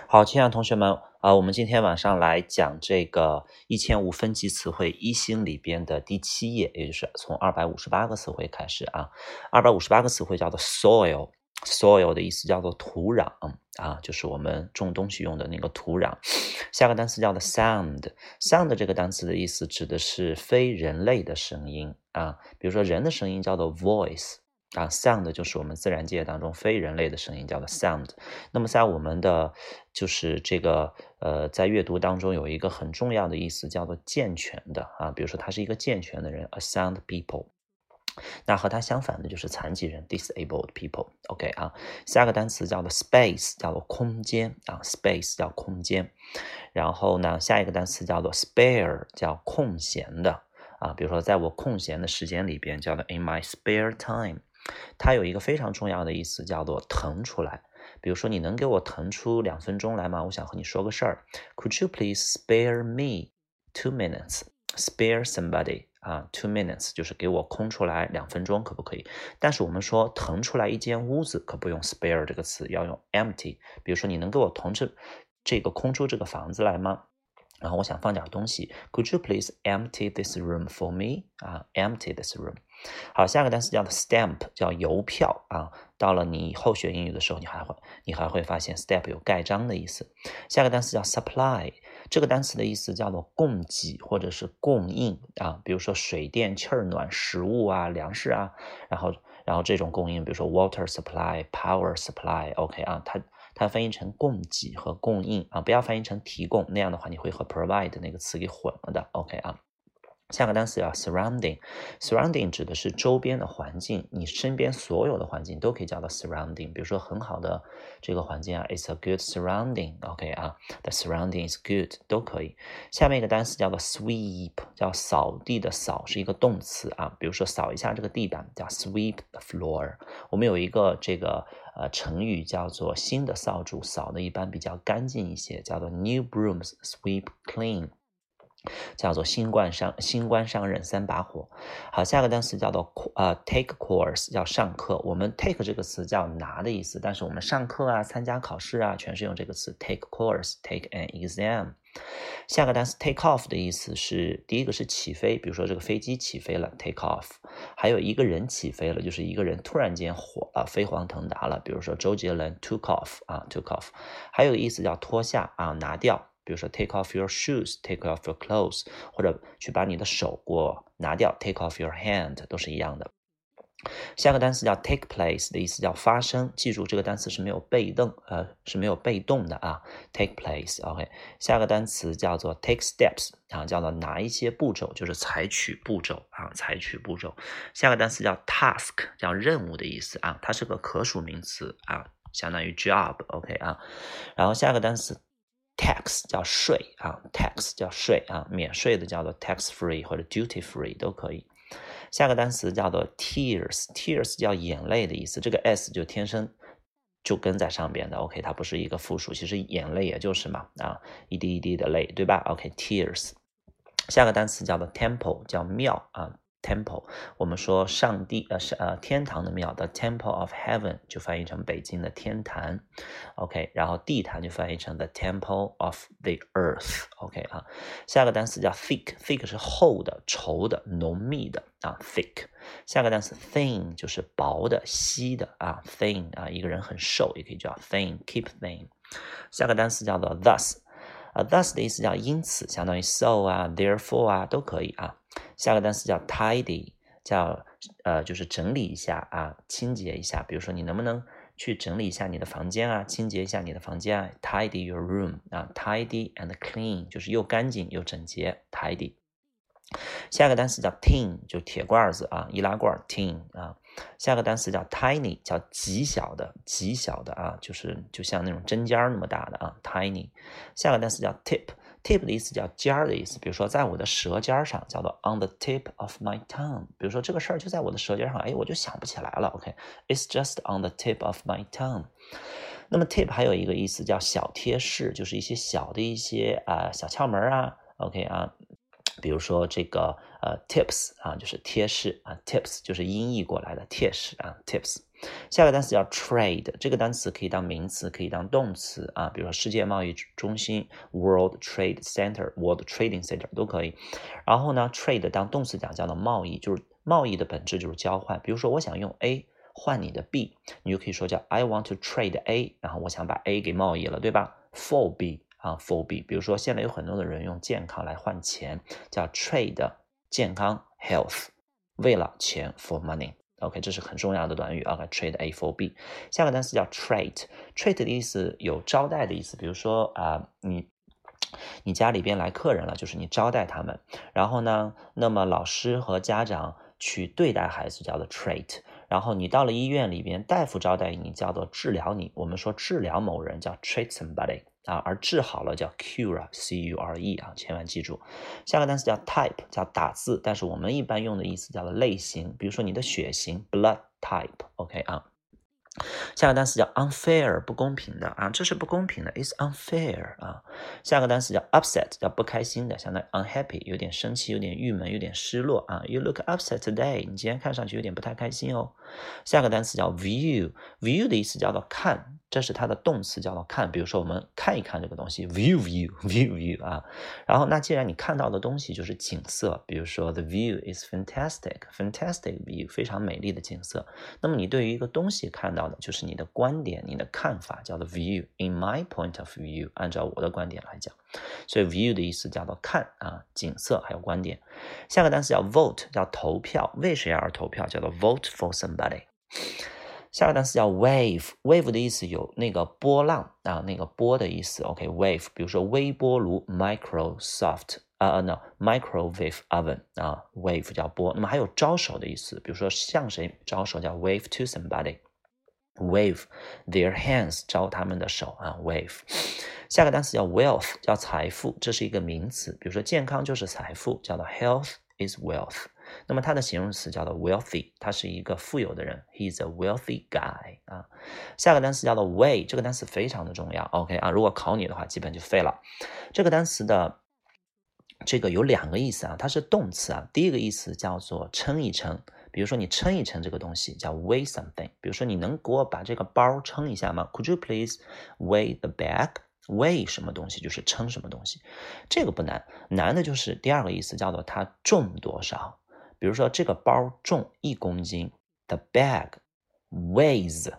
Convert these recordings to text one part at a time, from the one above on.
好，亲爱的同学们，我们今天晚上来讲这个1005分级词汇一星里边的第7页，也就是从258个词汇开始啊。258个词汇叫做 soil 的意思叫做土壤啊，就是我们种东西用的那个土壤。下个单词叫做 sound 这个单词的意思指的是非人类的声音啊，比如说人的声音叫做 voice。sound 就是我们自然界当中非人类的声音，叫做 sound。那么在我们的就是这个在阅读当中有一个很重要的意思叫做健全的啊，比如说他是一个健全的人 ，a sound people。那和它相反的就是残疾人 disabled people。OK 啊，下个单词叫做 space， 叫做空间啊 ，space 叫空间。然后呢，下一个单词叫做 spare， 叫空闲的啊，比如说在我空闲的时间里边，叫做 in my spare time。它有一个非常重要的意思，叫做腾出来。比如说，你能给我腾出2分钟来吗？我想和你说个事儿。Could you please spare me 2 minutes? Spare somebody 2 minutes 就是给我空出来2分钟，可不可以？但是我们说腾出来一间屋子，可不用 spare 这个词，要用 empty。比如说，你能给我空出这个房子来吗？然后我想放点东西 ，Could you please empty this room for me？ empty this room。好，下个单词叫做 stamp， 叫邮票啊。到了你以后学英语的时候，你还会发现 stamp 有盖章的意思。下个单词叫 supply， 这个单词的意思叫做供给或者是供应啊，比如说水电气儿暖、食物啊、粮食啊，然后这种供应，比如说 water supply、power supply，OK 它翻译成供给和供应啊，不要翻译成提供，那样的话你会和 provide 那个词给混了的 ，OK 啊。下个单词叫 surrounding 指的是周边的环境，你身边所有的环境都可以叫做 surrounding。比如说很好的这个环境啊 ，it's a good surrounding，OK ，the surrounding is good 都可以。下面一个单词叫做 sweep， 叫扫地的扫，是一个动词啊。比如说扫一下这个地板叫 sweep the floor。我们有一个这个成语叫做新的扫帚扫的一般比较干净一些，叫做 new brooms sweep clean。叫做新官上任3把火。好，下个单词叫做take course， 叫上课。我们 take 这个词叫拿的意思，但是我们上课啊、参加考试啊，全是用这个词 take course，take an exam。下个单词 take off 的意思是第一个是起飞，比如说这个飞机起飞了 take off， 还有一个人起飞了，就是一个人突然间火了，飞黄腾达了，比如说周杰伦 took off，took off。还有意思叫脱下拿掉。比如说 take off your shoes, take off your clothes， 或者去把你的手给我拿掉 take off your hand， 都是一样的。下个单词叫 take place 的意思叫发生，记住这个单词是没有被动的take place。OK， 下个单词叫做 take steps叫做拿一些步骤，就是采取步骤。下个单词叫 task， 叫任务的意思它是个可数名词相当于 job。OK 然后下个单词tax 叫税tax 叫税免税的叫做 tax free 或者 duty free 都可以。下个单词叫做 tears 叫眼泪的意思，这个 s 就天生就跟在上边的 OK， 它不是一个复数，其实眼泪也就是嘛一滴一滴的泪，对吧 OK tears。下个单词叫做 temple 叫庙temple， 我们说上帝天堂的庙的 Temple of Heaven 就翻译成北京的天坛 OK， 然后地坛就翻译成 the Temple of the Earth OK 下个单词叫 thick 是厚的、稠的、浓密的thick。下个单词 thin 就是薄的、稀的thin 一个人很瘦也可以叫 thin keep thin。下个单词叫做 thus 的意思叫因此，相当于 so therefore都可以下个单词叫 tidy， 叫就是整理一下清洁一下。比如说你能不能去整理一下你的房间清洁一下你的房间tidy your room tidy and clean 就是又干净又整洁 tidy。下个单词叫 tin， 就铁罐子易拉罐 tin 下个单词叫 tiny， 叫极小的就像那种针尖那么大的tiny。下个单词叫 tip 的意思叫尖儿的意思，比如说在我的舌尖上叫做 on the tip of my tongue， 比如说这个事儿就在我的舌尖上我就想不起来了 OK it's just on the tip of my tongue。 那么 tip 还有一个意思叫小贴士，就是一些小的小窍门OK 比如说这个tips就是贴士tips 就是音译过来的贴士tips。 下个单词叫 trade， 这个单词可以当名词，可以当动词啊，比如说世界贸易中心 World Trade Center、World Trading Center 都可以。然后呢 trade 当动词讲叫做贸易，就是贸易的本质就是交换。比如说我想用 A 换你的 B， 你就可以说叫 I want to trade A， 然后我想把 A 给贸易了，对吧？ for B 啊 for B。 比如说现在有很多的人用健康来换钱，叫 trade 健康 health， 为了钱 for money。OK， 这是很重要的短语啊 ，trade A for B。下个单词叫 trait，trait 的意思有招待的意思，比如说你家里边来客人了，就是你招待他们。然后呢，那么老师和家长去对待孩子叫做 trait。然后你到了医院里边，大夫招待你叫做治疗你。我们说治疗某人叫 treat somebody 啊，而治好了叫 cure，C-U-R-E 啊，千万记住。下个单词叫 type， 叫打字，但是我们一般用的意思叫做类型，比如说你的血型 blood type，OK 啊。下个单词叫 unfair， 不公平的啊，这是不公平的 ，is unfair 啊。下个单词叫 upset， 叫不开心的，相当于 unhappy， 有点生气，有点郁闷，有点失落啊。You look upset today， 你今天看上去有点不太开心哦。下个单词叫 view，view 的意思叫做看，这是它的动词叫做看。比如说我们看一看这个东西 view 啊。然后那既然你看到的东西就是景色，比如说 the view is fantastic view， 非常美丽的景色。那么你对于一个东西看到的就是你的观点，你的看法，叫做 view。 In my point of view， 按照我的观点来讲，所以 view 的意思叫做看啊，景色还有观点。下个单词叫 vote， 叫投票，为谁而投票，叫做 vote for somebody。下个单词叫 wave，wave 的意思有那个波浪啊，那个波的意思。OK wave， 比如说微波炉 Microsoft microwave oven 啊 wave 叫波。那么还有招手的意思，比如说向谁招手叫 wave to somebody， wave their hands 招他们的手啊 wave。 下个单词叫 wealth， 叫财富，这是一个名词，比如说健康就是财富，叫做 health is wealth。那么它的形容词叫做 wealthy， 他是一个富有的人 ，he is a wealthy guy 啊。下个单词叫做 way， 这个单词非常的重要 ，OK 啊，如果考你的话，基本就废了。这个单词的这个有两个意思啊，它是动词啊。第一个意思叫做称一称，比如说你称一称这个东西叫 weigh something， 比如说你能给我把这个包称一下吗 ？Could you please weigh the bag？weigh 什么东西就是称什么东西，这个不难，难的就是第二个意思叫做它重多少。比如说这个包重1公斤 ，the bag weighs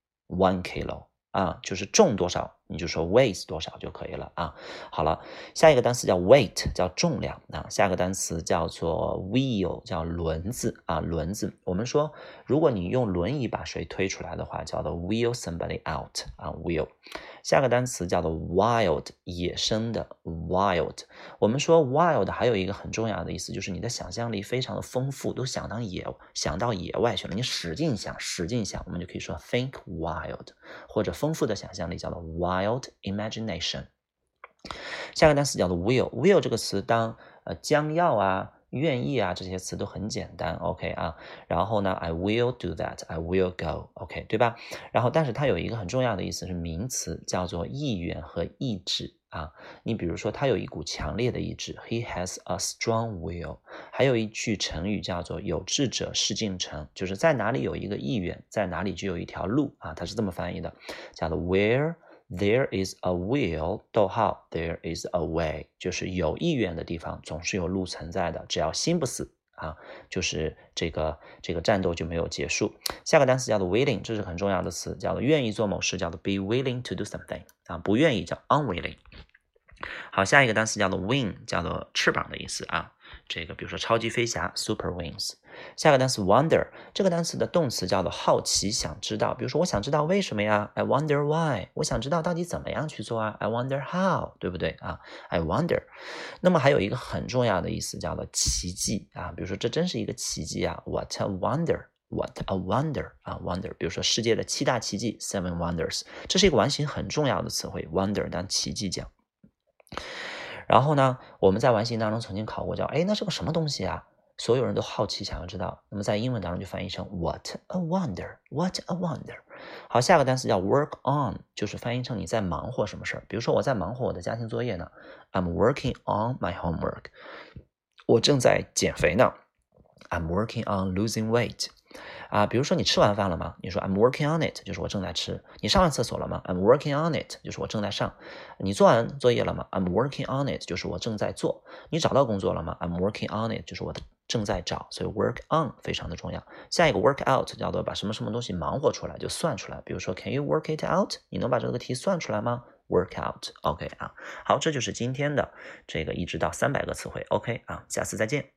1 kilo 啊，就是重多少你就说 weighs 多少就可以了啊。好了，下一个单词叫 weight， 叫重量啊。下个单词叫做 wheel， 叫轮子啊，轮子。我们说如果你用轮椅把谁推出来的话，叫做 wheel somebody out 啊 wheel。下个单词叫做 wild， 野生的 wild。我们说 wild 还有一个很重要的意思，就是你的想象力非常的丰富，都想到野外去了，你使劲想，我们就可以说 think wild， 或者丰富的想象力叫做 wild imagination。下个单词叫做 will 这个词当将要啊、愿意啊这些词都很简单 ，OK 啊。然后呢 ，I will do that， I will go，OK， 对吧？然后但是它有一个很重要的意思是名词，叫做意愿和意志啊。你比如说他有一股强烈的意志 ，He has a strong will。还有一句成语叫做有志者事竟成，就是在哪里有一个意愿，在哪里就有一条路啊，它是这么翻译的，叫做 Where there is a will， there is a way， 就是有意愿的地方总是有路存在的，只要心不死啊，就是这个战斗就没有结束。下个单词叫做 willing， 这是很重要的词，叫做愿意做某事，叫做 be willing to do something 啊，不愿意叫 unwilling。好，下一个单词叫做 wing， 叫做翅膀的意思啊。这个比如说超级飞侠 super wings。下个单词 wonder， 这个单词的动词叫做好奇想知道，比如说我想知道为什么呀 I wonder why， 我想知道到底怎么样去做啊 I wonder how， 对不对啊 I wonder。 那么还有一个很重要的意思叫做奇迹啊，比如说这真是一个奇迹啊 What a wonder，What a wonder 啊 wonder， 比如说世界的7大奇迹 Seven wonders， 这是一个完形很重要的词汇 wonder 当奇迹讲。然后呢，我们在完形当中曾经考过叫那是个什么东西啊，所有人都好奇想要知道，那么在英文当中就翻译成 What a wonder， What a wonder。 好，下个单词叫 work on， 就是翻译成你在忙活什么事儿，比如说我在忙活我的家庭作业呢 I'm working on my homework， 我正在减肥呢 I'm working on losing weight。 比如说你吃完饭了吗？你说 I'm working on it， 就是我正在吃。你上完厕所了吗？ I'm working on it， 就是我正在上。你做完作业了吗？ I'm working on it， 就是我正在做。你找到工作了吗？ I'm working on it， 就是我正在找。所以 work on 非常的重要。下一个 work out 叫做把什么什么东西忙活出来，就算出来。比如说 Can you work it out？ 你能把这个题算出来吗？Work out，OK 好，这就是今天的这个1至到300个词汇，OK 下次再见。